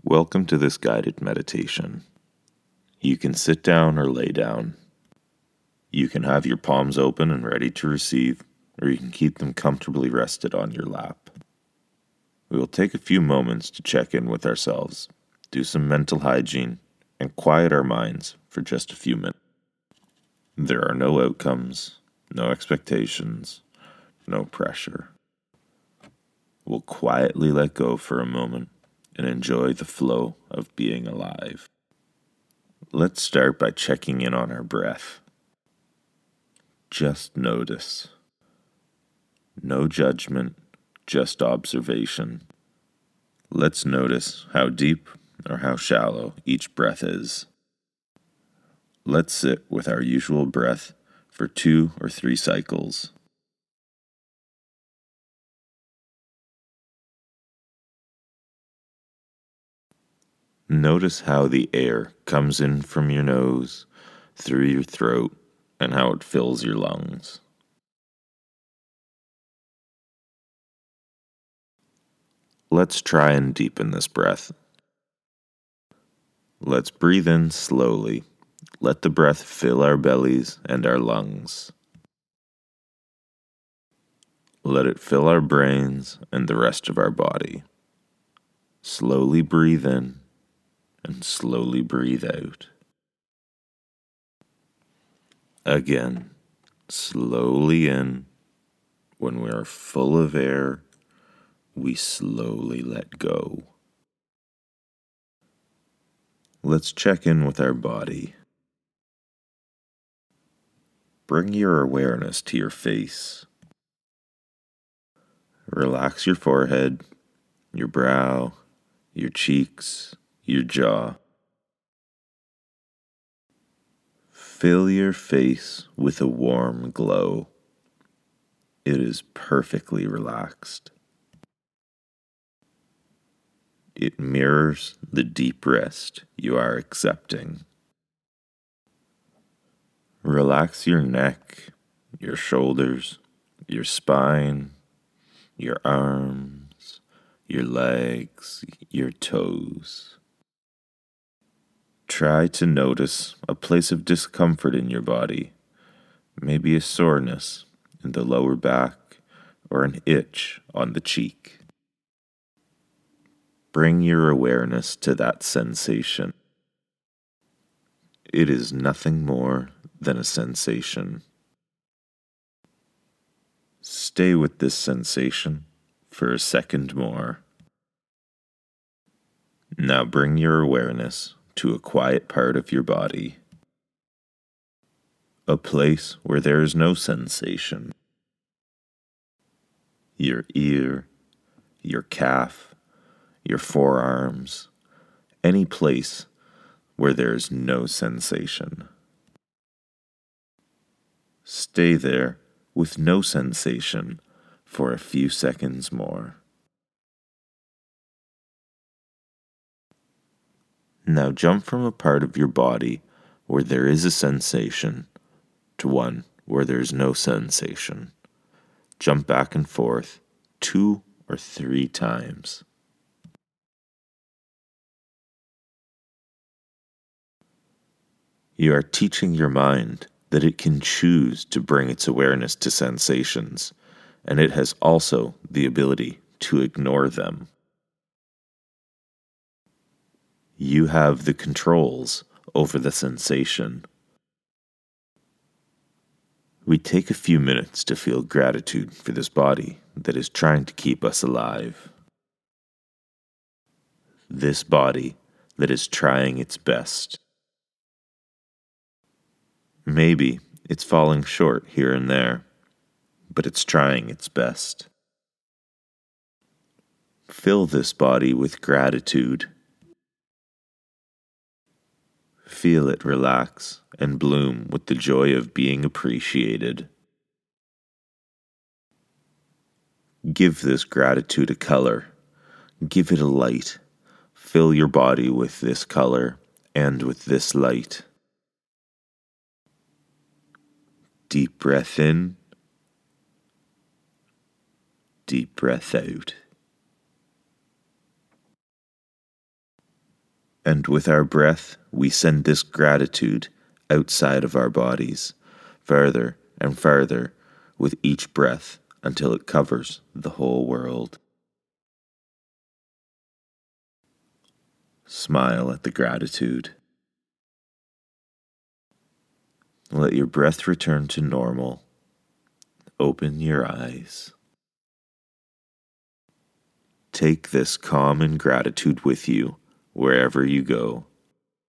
Welcome to this guided meditation. You can sit down or lay down. You can have your palms open and ready to receive, or you can keep them comfortably rested on your lap. We will take a few moments to check in with ourselves, do some mental hygiene, and quiet our minds for just a few minutes. There are no outcomes, no expectations, no pressure. We'll quietly let go for a moment and enjoy the flow of being alive. Let's start by checking in on our breath. Just notice. No judgment, just observation. Let's notice how deep or how shallow each breath is. Let's sit with our usual breath for 2 or 3 cycles. Notice how the air comes in from your nose, through your throat, and how it fills your lungs. Let's try and deepen this breath. Let's breathe in slowly. Let the breath fill our bellies and our lungs. Let it fill our brains and the rest of our body. Slowly breathe in and slowly breathe out. Again, slowly in. When we are full of air, we slowly let go. Let's check in with our body. Bring your awareness to your face. Relax your forehead, your brow, your cheeks, your jaw. Fill your face with a warm glow. It is perfectly relaxed. It mirrors the deep rest you are accepting. Relax your neck, your shoulders, your spine, your arms, your legs, your toes. Try to notice a place of discomfort in your body, maybe a soreness in the lower back or an itch on the cheek. Bring your awareness to that sensation. It is nothing more than a sensation. Stay with this sensation for a second more. Now bring your awareness to a quiet part of your body, a place where there is no sensation. Your ear, your calf, your forearms, any place where there is no sensation. Stay there with no sensation for a few seconds more. Now jump from a part of your body where there is a sensation to one where there is no sensation. Jump back and forth 2 or 3 times. You are teaching your mind that it can choose to bring its awareness to sensations, and it has also the ability to ignore them. You have the controls over the sensation. We take a few minutes to feel gratitude for this body that is trying to keep us alive. This body that is trying its best. Maybe it's falling short here and there, but it's trying its best. Fill this body with gratitude. Feel it relax and bloom with the joy of being appreciated. Give this gratitude a color. Give it a light. Fill your body with this color and with this light. Deep breath in. Deep breath out. And with our breath, we send this gratitude outside of our bodies, further and further with each breath until it covers the whole world. Smile at the gratitude. Let your breath return to normal. Open your eyes. Take this calm and gratitude with you wherever you go.